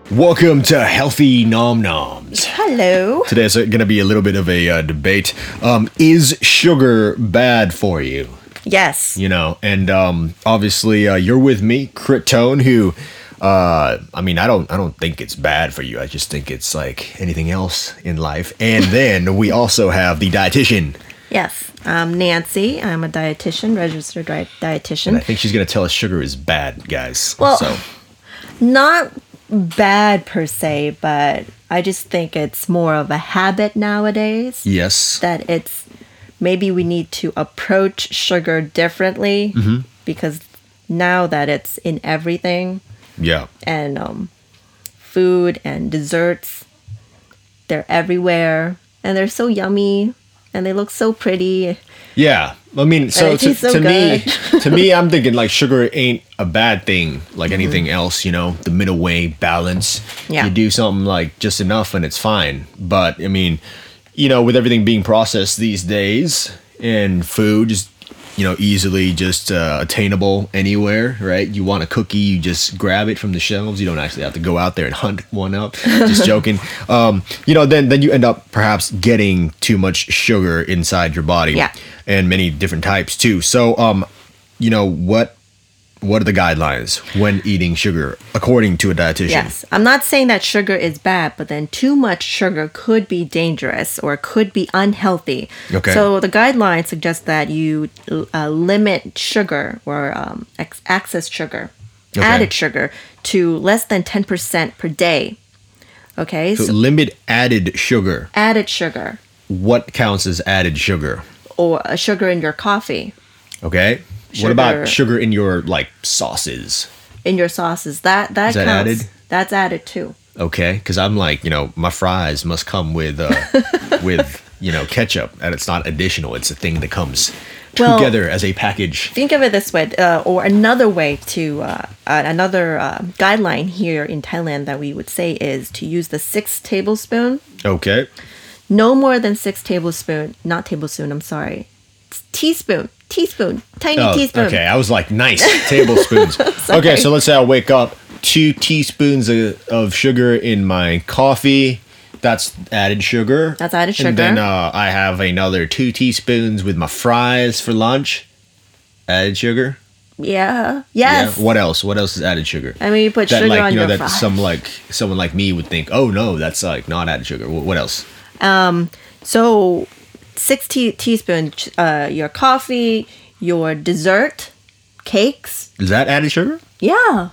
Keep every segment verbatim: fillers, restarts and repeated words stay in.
Welcome to Healthy Nom Noms. Hello. Today's going to be a little bit of a uh, debate. Um, is sugar bad for you? Yes. You know, and um, obviously uh, you're with me, Crit Tone, who, uh, I mean, I don't, I don't think it's bad for you. I just think it's like anything else in life. And then we also have the dietitian. Yes. I'm Nancy. I'm a dietitian, registered di- dietitian. And I think she's going to tell us sugar is bad, guys. Well, so. Not bad per se, but I just think it's more of a habit nowadays. Yes. That it's maybe we need to approach sugar differently mm-hmm. because now that it's in everything. Yeah. And um, food and desserts, they're everywhere and they're so yummy and they look so pretty. Yeah. I mean, so to, so to me, good. to me, I'm thinking like sugar ain't a bad thing, like anything mm-hmm. else, you know, the middle way, balance. Yeah. You do something like just enough and it's fine. But I mean, you know, with everything being processed these days and food is, you know, easily just uh, attainable anywhere, right? You want a cookie, you just grab it from the shelves. You don't actually have to go out there and hunt one up. Just joking. Um, you know, then then you end up perhaps getting too much sugar inside your body. Yeah. And many different types too. So, um, you know, what what are the guidelines when eating sugar, according to a dietitian? Yes. I'm not saying that sugar is bad, but then too much sugar could be dangerous or could be unhealthy. Okay. So the guidelines suggest that you uh, limit sugar or um, ex- excess sugar, okay. added sugar, to less than ten percent per day. Okay. So, so limit added sugar. Added sugar. What counts as added sugar? Or uh, sugar in your coffee. Okay. Sugar. What about sugar in your like sauces? In your sauces, that that, Is that counts. added? That's added too. Okay, because I'm like, you know, my fries must come with uh, with you know ketchup, and it's not additional. It's a thing that comes well, together as a package. Think of it this way, uh, or another way to uh, uh, another uh, guideline here in Thailand that we would say is to use the six tablespoon. Okay. No more than six tablespoon. Not tablespoon. I'm sorry. Teaspoon. Teaspoon. Tiny oh, teaspoon. Okay, I was like, nice tablespoons. Okay, so let's say I wake up, two teaspoons of, of sugar in my coffee. That's added sugar. That's added sugar. And then uh, I have another two teaspoons with my fries for lunch. Added sugar. Yeah. Yes. Yeah. What else? What else is added sugar? I mean, you put that, sugar like, on you know, your that fries. some like someone like me would think, oh no, that's like not added sugar. What, what else? Um. So. Six te- teaspoons, uh, your coffee, your dessert, cakes. Is that added sugar? Yeah.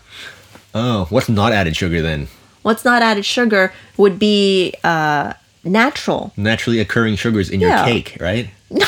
Oh, what's not added sugar then? What's not added sugar would be uh, natural. Naturally occurring sugars in Yeah. your cake, right?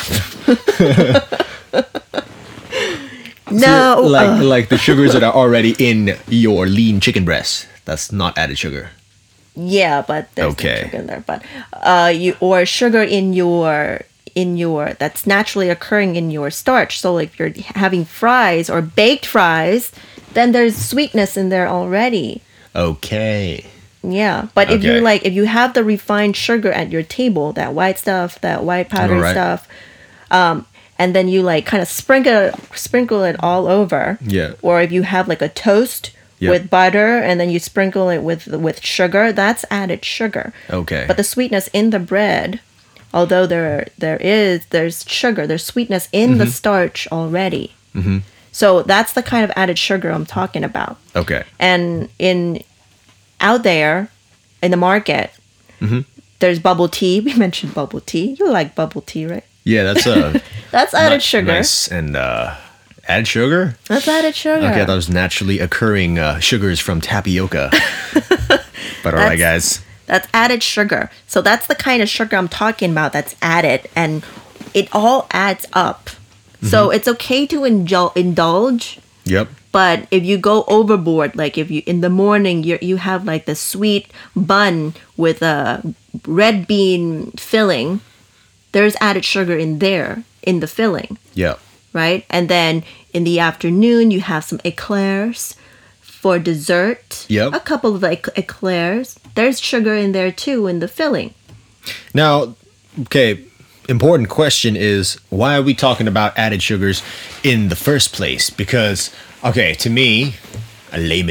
No. So, like uh, like the sugars that are already in your lean chicken breast. That's not added sugar. yeah, but there's Okay. no sugar in there. But uh, you or sugar in your in your that's naturally occurring in your starch. So if you're having fries or baked fries, then there's sweetness in there already. Okay. Yeah, but if you Okay. like, if you have the refined sugar at your table, that white stuff, that white powdered Alright. stuff, um, and then you like kind of sprinkle sprinkle it all over. Yeah. Or if you have like a toast Yep. with butter and then you sprinkle it with with sugar, that's added sugar. Okay. But the sweetness in the bread, although there there is there's sugar, there's sweetness in the starch already. Mm-hmm. So that's the kind of added sugar I'm talking about. Okay. And in out there in the market, Mm-hmm. there's bubble tea. We mentioned bubble tea. You like bubble tea, right? Yeah, that's uh That's added ni- sugar. nice and uh added sugar? That's added sugar. Okay, that was naturally occurring uh, sugars from tapioca. But all right, guys. That's added sugar. So that's the kind of sugar I'm talking about that's added, and it all adds up. So it's okay to indul- indulge, Yep. but if you go overboard, like if you in the morning you you have like the sweet bun with a red bean filling, there's added sugar in there in the filling, Yep. right? And then in the afternoon you have some eclairs for dessert. Yep. A couple of like eclairs. There's sugar in there too in the filling. Now, okay, important question is, why are we talking about added sugars in the first place? Because, okay, to me, a layman,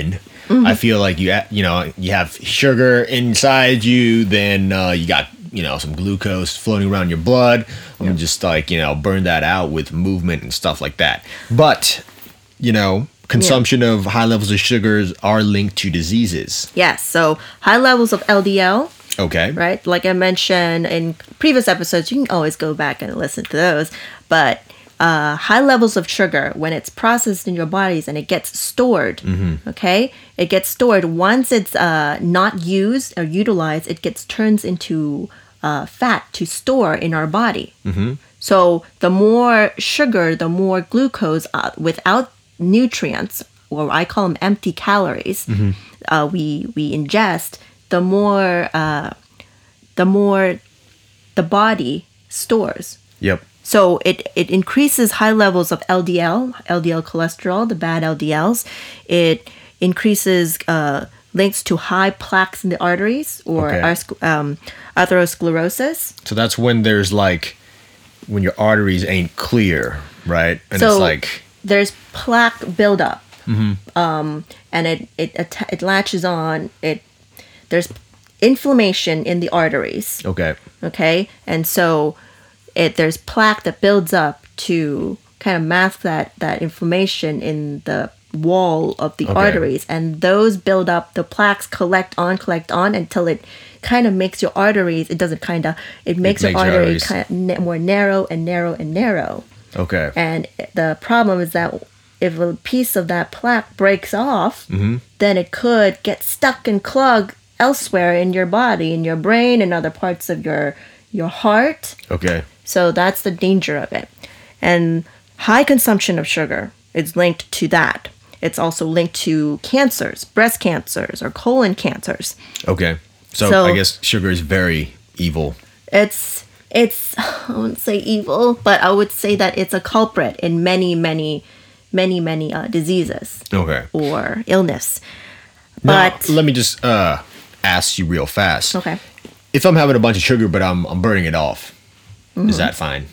I feel like you ha- you know you have sugar inside you, then uh, you got you know some glucose floating around your blood. I'm gonna just like you know burn that out with movement and stuff like that. But you know consumption yeah. of high levels of sugars are linked to diseases. Yes. So high levels of L D L. Okay. Right? Like I mentioned in previous episodes, you can always go back and listen to those. But uh, high levels of sugar, when it's processed in your bodies and it gets stored, mm-hmm. okay? It gets stored. Once it's uh, not used or utilized, it gets turned into uh, fat to store in our body. Mm-hmm. So the more sugar, the more glucose uh, without nutrients, or I call them empty calories, mm-hmm. uh, we, we ingest, the more uh, the more the body stores. Yep. So it, it increases high levels of L D L, L D L cholesterol, the bad L D Ls. It increases uh, links to high plaques in the arteries or Okay. ars- um, atherosclerosis. So that's when there's like when your arteries ain't clear, right? And So it's like there's plaque buildup, mm-hmm. um, and it it atta- it latches on. It there's inflammation in the arteries. okay. Okay, and so it there's plaque that builds up to kind of mask that that inflammation in the wall of the Okay. arteries, and those build up. The plaques collect on, collect on until it kind of makes your arteries. It doesn't kind of. It makes your makes your artery arteries- kind of na- more narrow and narrow and narrow. Okay. And the problem is that if a piece of that plaque breaks off, Mm-hmm. then it could get stuck and clog elsewhere in your body, in your brain, and other parts of your your heart. Okay. So that's the danger of it. And high consumption of sugar is linked to that. It's also linked to cancers, breast cancers, or colon cancers. Okay. So, So- I guess sugar is very evil. It's it's I wouldn't say evil, but I would say that it's a culprit in many, many, many, many uh, diseases Okay. or illness. Now, But let me just uh, ask you real fast. okay, If I'm having a bunch of sugar, but I'm I'm burning it off, Mm-hmm. is that fine?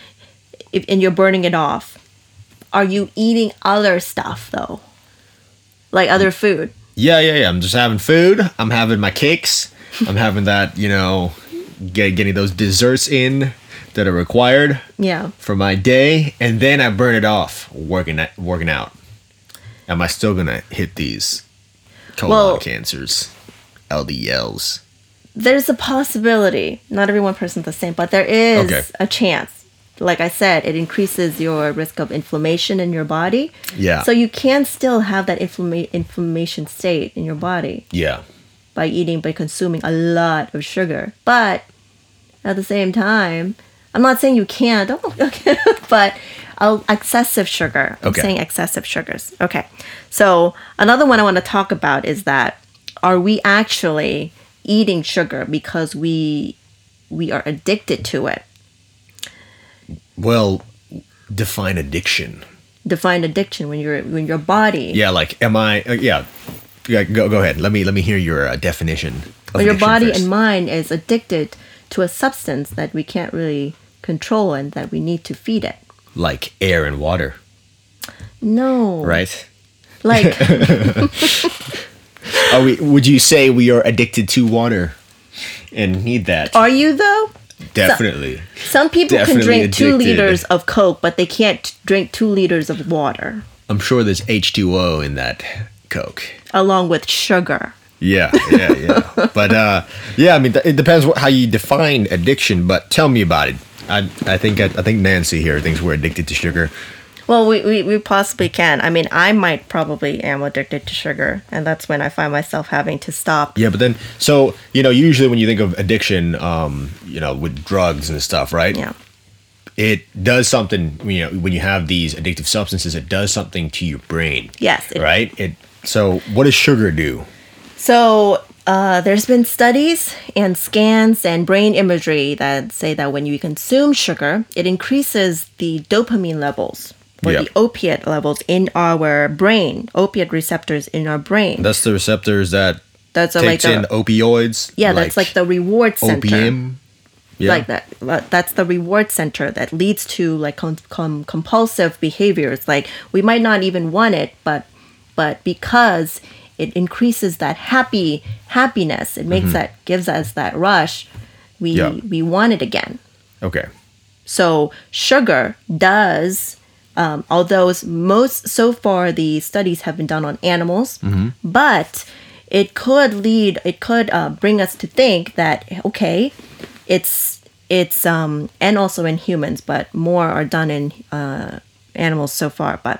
if, and you're burning it off, are you eating other stuff though, like other food? Yeah, yeah, yeah. I'm just having food. I'm having my cakes. I'm having that, you know, get, getting those desserts in that are required Yeah. for my day, and then I burn it off working at, working out. Am I still gonna hit these colon Well- cancers, L D Ls? There's a possibility. Not every one person's the same, but there is Okay. a chance. Like I said, it increases your risk of inflammation in your body. Yeah. So you can still have that inflama- inflammation state in your body Yeah. by eating, by consuming a lot of sugar. But at the same time, I'm not saying you can't, oh, okay, but uh, excessive sugar. I'm Okay. saying excessive sugars. Okay. So another one I want to talk about is that are we actually eating sugar because we we are addicted to it? Well, define addiction. Define addiction when you're when your body Yeah, like, am I? Uh, yeah. Yeah. Go go ahead. Let me let me hear your uh, definition. Of when your addiction body first. and mind is addicted to a substance that we can't really control and that we need to feed it. like air and water, No. right? Like Are we? Would you say we are addicted to water and need that? are you though? Definitely. Some people Definitely can drink two addicted. liters of Coke, but they can't drink two liters of water I'm sure there's H two O in that Coke. along with sugar. Yeah, yeah, yeah. But uh, yeah, I mean, th- it depends what, how you define addiction. But tell me about it. I I think I, I think Nancy here thinks we're addicted to sugar. Well, we, we, we possibly can. I mean, I might probably am addicted to sugar, and that's when I find myself having to stop. Yeah, but then so you know, usually when you think of addiction, um, you know, with drugs and stuff, right? Yeah. It does something. You know, when you have these addictive substances, it does something to your brain. Yes. it- Right. It. So what does sugar do? So uh, there's been studies and scans and brain imagery that say that when you consume sugar, it increases the dopamine levels or Yeah. the opiate levels in our brain, opiate receptors in our brain. That's the receptors that That's a, like takes in the, opioids. yeah, that's like the reward center. opium. Yeah. Like that. That's the reward center that leads to like com- com- compulsive behaviors. Like we might not even want it, but but because it increases that happy happiness. It makes that gives us that rush. We Yeah. we want it again. Okay. So sugar does, um, although it's most so far the studies have been done on animals, but it could lead, it could uh, bring us to think that okay, it's it's um, and also in humans, but more are done in uh, animals so far. But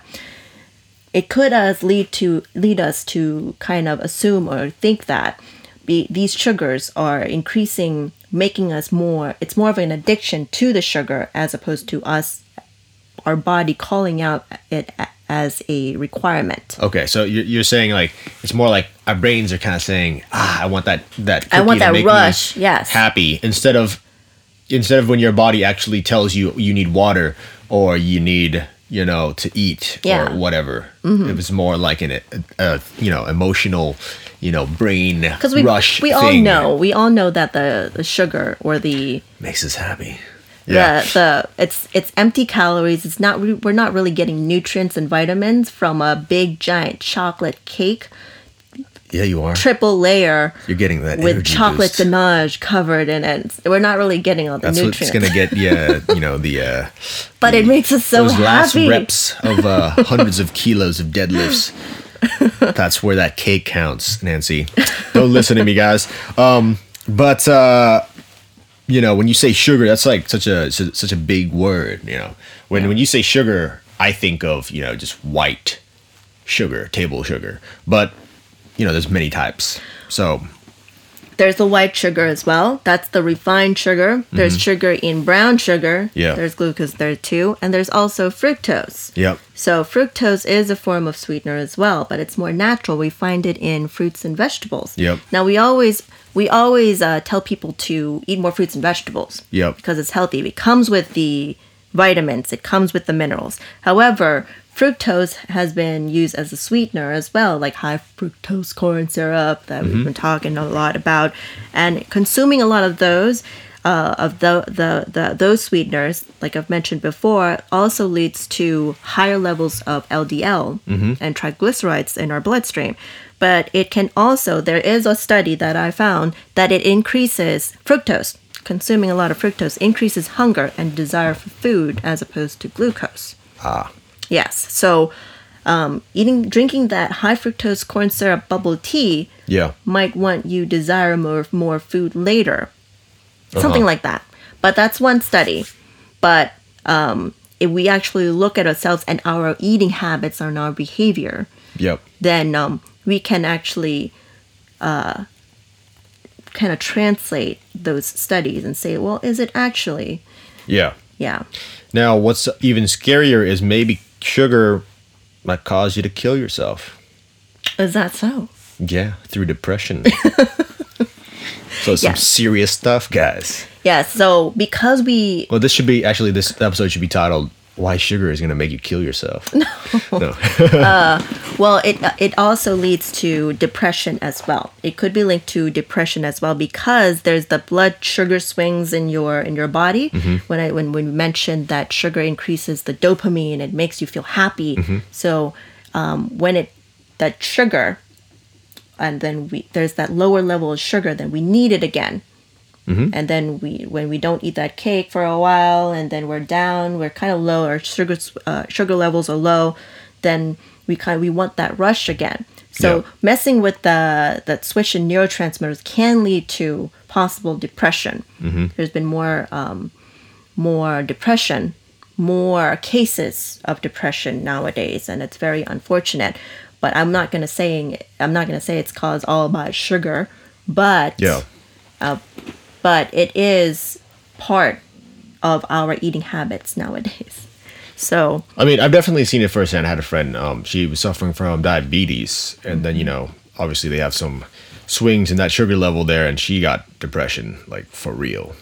it could uh, lead to lead us to kind of assume or think that be, these sugars are increasing, making us more. It's more of an addiction to the sugar as opposed to us, our body calling out it a- as a requirement. Okay, so you're, you're saying like it's more like our brains are kind of saying, ah, I want that that I cookie want to that make rush, me yes. happy instead of instead of when your body actually tells you you need water or you need you know to eat Yeah. or whatever. It was more like an a, you know emotional you know brain Because we rush. we all thing. know we all know that the, the sugar or the Makes us happy. the the it's it's empty calories. It's not re- we're not really getting nutrients and vitamins from a big giant chocolate cake, Yeah, you are. triple layer You're getting that with energy chocolate boost. ganache covered in it. We're not really getting all the That's nutrients. what's gonna get yeah you know the uh, but it makes us so those last happy. reps of uh, hundreds of kilos of deadlifts. That's where that cake counts, Nancy. Don't listen to me, guys. Um, but uh, you know, when you say sugar, that's like such a su- such a big word. You know, when when you say sugar, I think of you know just white sugar, table sugar. But you know, there's many types. So There's the white sugar as well. That's the refined sugar. There's sugar in brown sugar. Mm-hmm. Yeah. There's glucose there too. And there's also fructose. yep, So fructose is a form of sweetener as well, but it's more natural. We find it in fruits and vegetables. Yep. Now we always we always uh, tell people to eat more fruits and vegetables. Yep. Because it's healthy. It comes with the vitamins. It comes with the minerals. However, fructose has been used as a sweetener as well, like high fructose corn syrup that we've been talking a lot about, and consuming a lot of those. Uh, of the, the the those sweeteners, like I've mentioned before, also leads to higher levels of L D L and triglycerides in our bloodstream. But it can also, there is a study that I found that it increases fructose. Consuming a lot of fructose increases hunger and desire for food as opposed to glucose. ah, Yes, so um, eating, drinking that high fructose corn syrup bubble tea yeah, might want you desire more more food later. Something Uh-huh. like that. But that's one study. But um, if we actually look at ourselves and our eating habits and our behavior, yep, then um, we can actually uh, kind of translate those studies and say, well, is it actually? yeah. Yeah. Now, what's even scarier is maybe sugar might cause you to kill yourself. Is that so? Yeah, through depression. So some Yeah. serious stuff, guys. Yeah. So because we Well, this should be actually this episode should be titled "Why Sugar Is Going to Make You Kill Yourself." No. no. Well, it it also leads to depression as well. It could be linked to depression as well because there's the blood sugar swings in your in your body. When I when we mentioned that sugar increases the dopamine, it makes you feel happy. So um, when it that sugar, and then we there's that lower level of sugar, then we need it again. And then we, when we don't eat that cake for a while, and then we're down, we're kind of low, our sugar uh, sugar levels are low, then we kind of, we want that rush again. So Yeah. messing with the that switch in neurotransmitters can lead to possible depression. There's been more um, more depression, more cases of depression nowadays, and it's very unfortunate. But I'm not gonna saying I'm not gonna say it's caused all by sugar, but Yeah. but it is part of our eating habits nowadays. So I mean, I've definitely seen it firsthand. I had a friend. Um, she was suffering from diabetes, and then you know, obviously they have some swings in that sugar level there, and she got depression, like for real.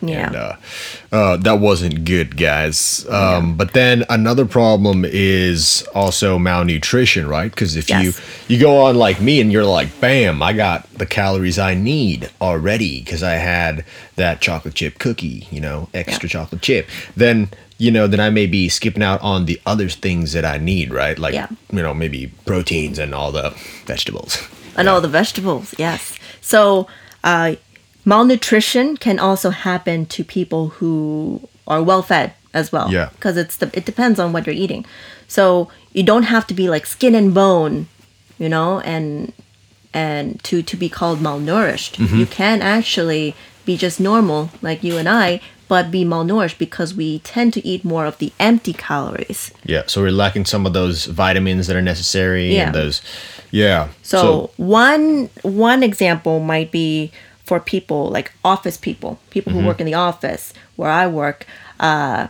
Yeah. And uh, uh, that wasn't good, guys. Um, But then another problem is also malnutrition, right? Because if you Yes. you go on like me and you're like, bam, I got the calories I need already because I had that chocolate chip cookie, you know, extra Yeah. chocolate chip. Then you know, then I may be skipping out on the other things that I need, right? Like, Yeah. you know, maybe proteins and all the vegetables. And all the vegetables, yes. So, uh, malnutrition can also happen to people who are well fed as well. Yeah. Because it's the, it depends on what you're eating. So you don't have to be like skin and bone, you know, and and to to be called malnourished. You can actually be just normal like you and I, but be malnourished because we tend to eat more of the empty calories. Yeah, so we're lacking some of those vitamins that are necessary Yeah. and those, yeah. So, one one example might be for people like office people, people who work in the office where I work. Uh,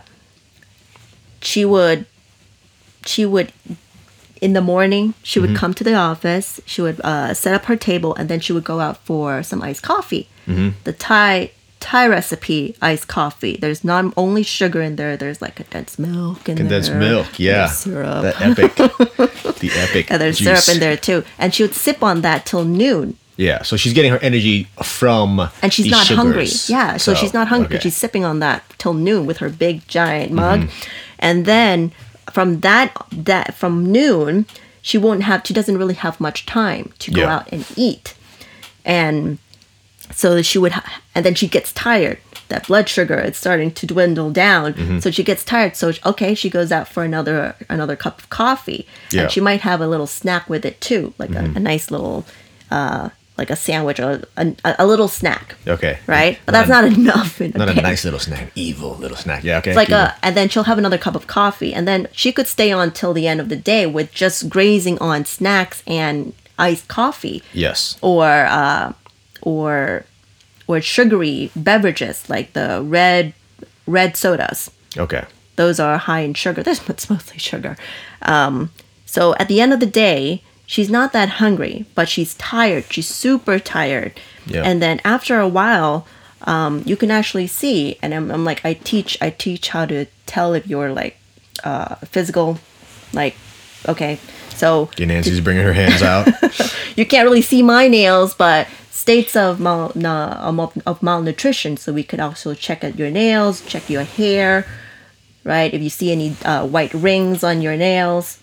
she would, she would, in the morning, she would come to the office. She would uh, set up her table, and then she would go out for some iced coffee. The Thai Thai recipe iced coffee. There's not only sugar in there. There's like condensed milk in condensed there. milk, yeah, There's syrup. the epic, the epic. And there's juice. syrup in there too. And she would sip on that till noon. Yeah, so she's getting her energy from And she's these not hungry. sugars. Yeah, so, she's not hungry. okay. She's sipping on that till noon with her big giant mug. Mm-hmm. And then from that that from noon, she won't have she doesn't really have much time to go Yeah. out and eat. And so she would ha- and then she gets tired. That blood sugar is starting to dwindle down. Mm-hmm. So she gets tired. So okay, she goes out for another another cup of coffee. Yeah. And she might have a little snack with it too, like Mm-hmm. a, a nice little uh like a sandwich or a, a, a little snack. Okay. Right? But that's not enough in a Not a day. nice little snack, evil little snack. Yeah, okay. It's like keep a, and then she'll have another cup of coffee, and then she could stay on till the end of the day with just grazing on snacks and iced coffee, going. Yes. or uh, or or sugary beverages like the red red sodas. Okay. Those are high in sugar. There's it's mostly sugar. Um, so at the end of the day, she's not that hungry, but she's tired. She's super tired. Yeah. And then after a while, um, you can actually see. And I'm, I'm like, I teach, I teach how to tell if you're like uh, physical, like, okay, so Okay, Nancy's bringing her hands out. you can't really see my nails, but states of mal, na, of of malnutrition. So we could also check at your nails, check your hair, right? If you see any uh, white rings on your nails,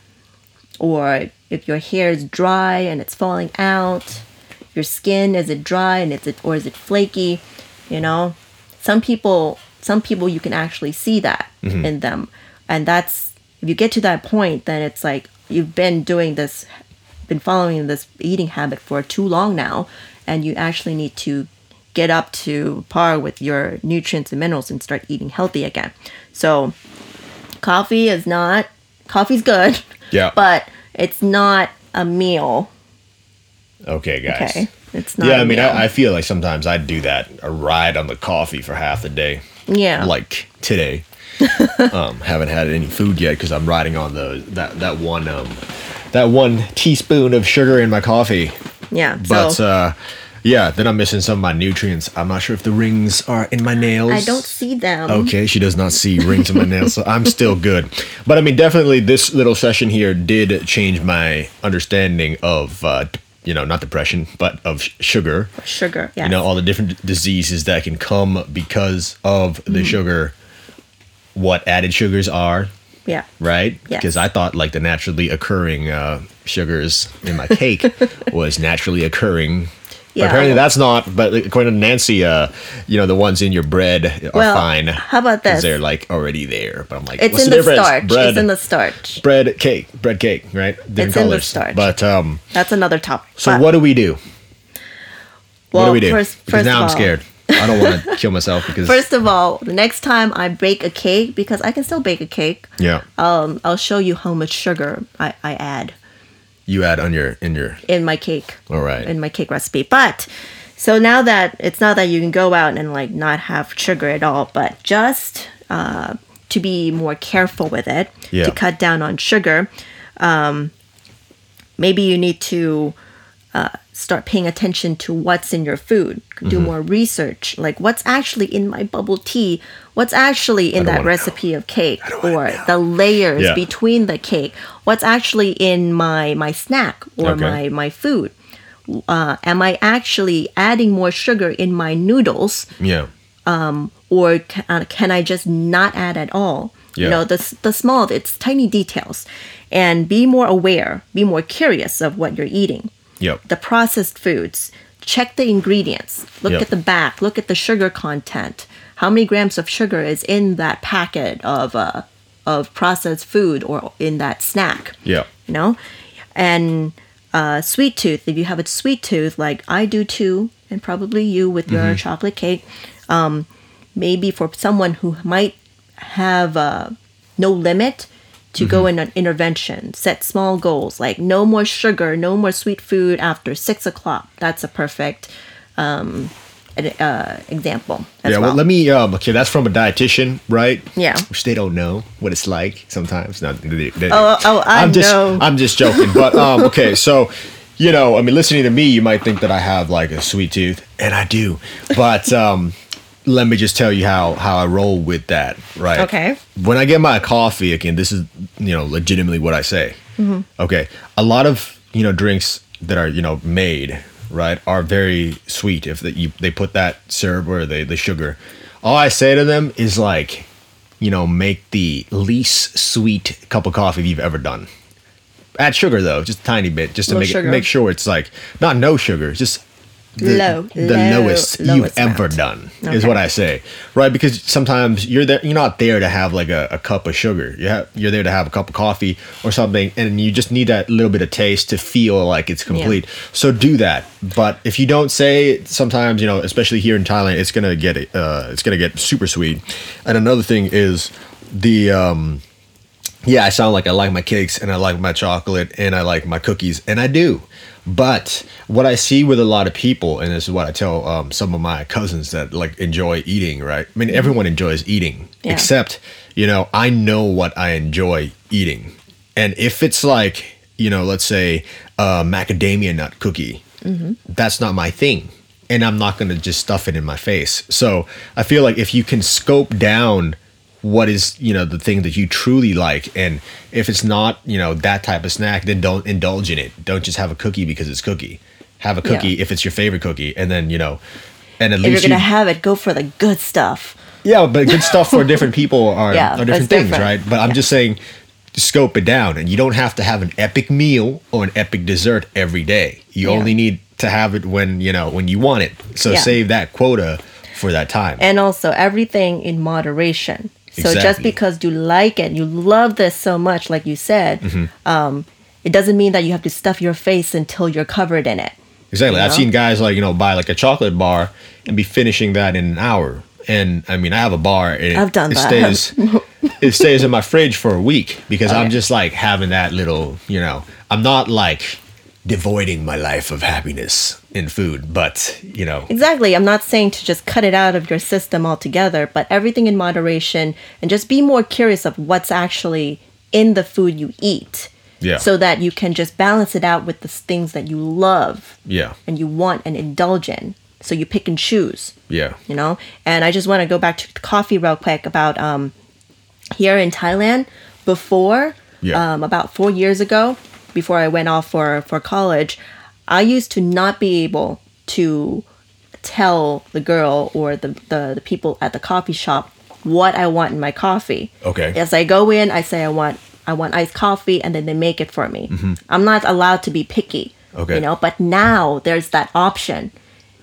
or if your hair is dry and it's falling out, your skin, is it dry and is it or is it flaky? You know, some people some people you can actually see that in them, and that's if you get to that point, then it's like you've been doing this, been following this eating habit for too long now, and you actually need to get up to par with your nutrients and minerals and start eating healthy again. So coffee is not coffee's good. Yeah. But it's not a meal. Okay, guys. Okay. It's not Yeah, a I mean, meal. I, I feel like sometimes I'd do that, a ride on the coffee for half the day. Yeah. Like today. um, haven't had any food yet because I'm riding on the that that one um that one teaspoon of sugar in my coffee. Yeah. But so uh, yeah, then I'm missing some of my nutrients. I'm not sure if the rings are in my nails. I don't see them. Okay, she does not see rings in my nails, so I'm still good. But I mean, definitely, this little session here did change my understanding of, uh, you know, not depression, but of sh- sugar. Sugar. Yeah. You know, all the different diseases that can come because of the Mm-hmm. sugar. What added sugars are, Yeah. right? Yes. Because I thought like the naturally occurring uh, sugars in my cake was naturally occurring. Yeah. But apparently that's not. But according to Nancy, uh, you know, the ones in your bread are Well, fine. how about 'cause this? they're like already there. But I'm like, It's what's in the, the, difference? starch. Bread, It's in the starch. bread cake, bread cake, right? Different It's in the colors. starch. But um, That's another topic. so But- what do we do? well, what do we do? First, because first now of I'm all, scared. I don't want to kill myself because First of all, the next time I bake a cake, because I can still bake a cake, yeah, um, I'll show you how much sugar I, I add you add on your in your in my cake. all right. In my cake recipe. But so now that it's not that you can go out and like not have sugar at all, but just uh, to be more careful with it, Yeah. to cut down on sugar, um, maybe you need to start paying attention to what's in your food. Do Mm-hmm. more research, like what's actually in my bubble tea, what's actually in don't that wanna recipe of cake, wanna or know. the layers Yeah. between the cake, what's actually in my my snack or Okay. my my food. Uh, am I actually adding more sugar in my noodles, Yeah. or can, uh, can I just not add at all? Yeah. You know, the s- the small, it's tiny details, and be more aware, be more curious of what you're eating. Yep. The processed foods, check the ingredients, look Yep. at the back, look at the sugar content. How many grams of sugar is in that packet of uh, of processed food or in that snack? Yeah. You know, and uh, sweet tooth. If you have a sweet tooth, like I do too, and probably you with your chocolate cake, um, maybe for someone who might have uh, no limit to go in an intervention, set small goals like no more sugar, no more sweet food after six o'clock. That's a perfect um, an- uh, example as Yeah, well. well, let me. Um, okay, that's from a dietitian, right? Yeah. Which they don't know what it's like sometimes. No, they, they, Oh, oh, I I'm just, know. I'm just joking. But um, okay, so you know, I mean, listening to me, you might think that I have like a sweet tooth, and I do. But um, let me just tell you how how I roll with that, right? Okay. When I get my coffee, again, this is you know legitimately what I say. Mm-hmm. Okay, a lot of you know drinks that are you know made right are very sweet if the, you, they put that syrup or the the sugar. All I say to them is like, you know, make the least sweet cup of coffee you've ever done. Add sugar though, just a tiny bit, just to Low make sugar. it, make sure it's like not no sugar, just the, Low, the low, lowest you've lowest ever amount. done is Okay. what I say, right? Because sometimes you're there, you're not there to have like a, a cup of sugar. You have, you're there to have a cup of coffee or something, and you just need that little bit of taste to feel like it's complete. So do that. But if you don't say, sometimes you know, especially here in Thailand, it's gonna get uh, it's gonna get super sweet. And another thing is the um, yeah, I sound like I like my cakes and I like my chocolate and I like my cookies, and I do. But what I see with a lot of people, and this is what I tell um, some of my cousins that like enjoy eating, right? I mean, everyone enjoys eating, Yeah. except, you know, I know what I enjoy eating. And if it's like, you know, let's say a macadamia nut cookie, that's not my thing. And I'm not going to just stuff it in my face. So I feel like if you can scope down what is, you know, the thing that you truly like, and if it's not, you know, that type of snack, then don't indulge in it. Don't just have a cookie because it's cookie. Have a cookie Yeah. if it's your favorite cookie, and then, you know, and at if you're least gonna you, have it, go for the good stuff. yeah, but good stuff for different people are, Yeah, are that's different things, different. right? But I'm just saying, scope it down, and you don't have to have an epic meal or an epic dessert every day. You Yeah. only need to have it when, you know, when you want it. So Yeah. save that quota for that time. And also everything in moderation. So just Exactly. because you like it, you love this so much, like you said, Mm-hmm. um, it doesn't mean that you have to stuff your face until you're covered in it. Exactly. You I've know? seen guys like, you know, buy like a chocolate bar and be finishing that in an hour. And I mean, I have a bar and I've done it that. stays it stays in my fridge for a week because I'm Okay. just like having that little, you know, I'm not like devoiding my life of happiness in food, but, you know, Exactly. I'm not saying to just cut it out of your system altogether, but everything in moderation, and just be more curious of what's actually in the food you eat. Yeah. So that you can just balance it out with the s- things that you love yeah. and you want and indulge in. So you pick and choose. Yeah. You know, and I just want to go back to coffee real quick about um here in Thailand before Yeah. um about four years ago, before I went off for for college, I used to not be able to tell the girl or the the, the people at the coffee shop what I want in my coffee. Okay. As I go in, I say I want I want iced coffee, and then they make it for me. I'm not allowed to be picky. Mm-hmm. Okay. You know, but now there's that option.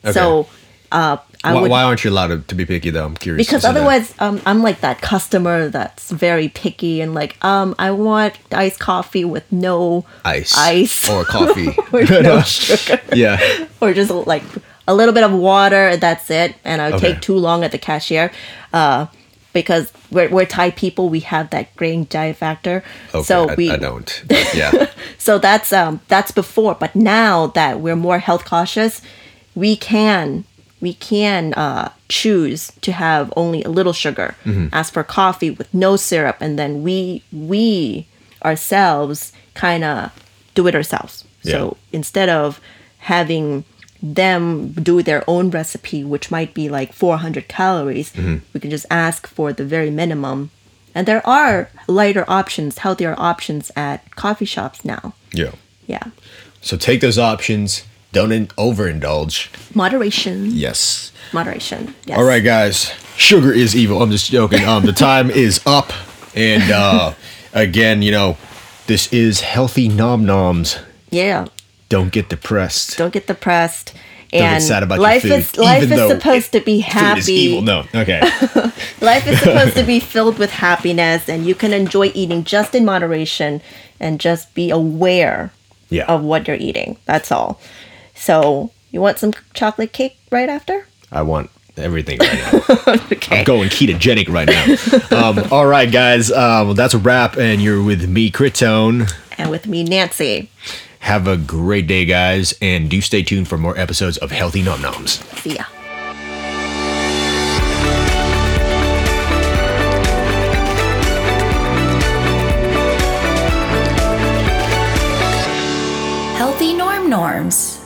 So uh, I Why, would why aren't you allowed to, to be picky though? I'm curious. because to see that. otherwise um, I'm like that customer that's very picky and like um I want iced coffee with no ice, ice or coffee. or no sugar Yeah. or just like a little bit of water, that's it, and I would Okay. take too long at the cashier uh, because we're, we're Thai people, we have that grain diet factor. Okay. So I, we I don't. But yeah. so that's um that's before, but now that we're more health cautious, we can we can uh, choose to have only a little sugar. Mm-hmm. As for coffee with no syrup, and then we we ourselves kind of do it ourselves. Yeah. So instead of having them do their own recipe, which might be like four hundred calories. Mm-hmm. We can just ask for the very minimum. And there are lighter options, healthier options at coffee shops now. Yeah. Yeah. So take those options. Don't in- overindulge. Moderation. Yes. Moderation. Yes. All right, guys. Sugar is evil. I'm just joking. Um, the time is up. And uh, again, you know, this is Healthy Nom Noms. Yeah. Don't get depressed. Don't get depressed. Don't And get sad about life your food. is life even is though supposed to be happy. Food is evil. No. Okay. Life is supposed to be filled with happiness, and you can enjoy eating just in moderation and just be aware Yeah. of what you're eating. That's all. So, you want some chocolate cake right after? I want everything right now. Okay. I'm going ketogenic right now. um, all right, guys. Um, that's a wrap, and you're with me, Critone. And with me, Nancy. Have a great day, guys, and do stay tuned for more episodes of Healthy Nom Noms. See ya. Healthy Norm Norms.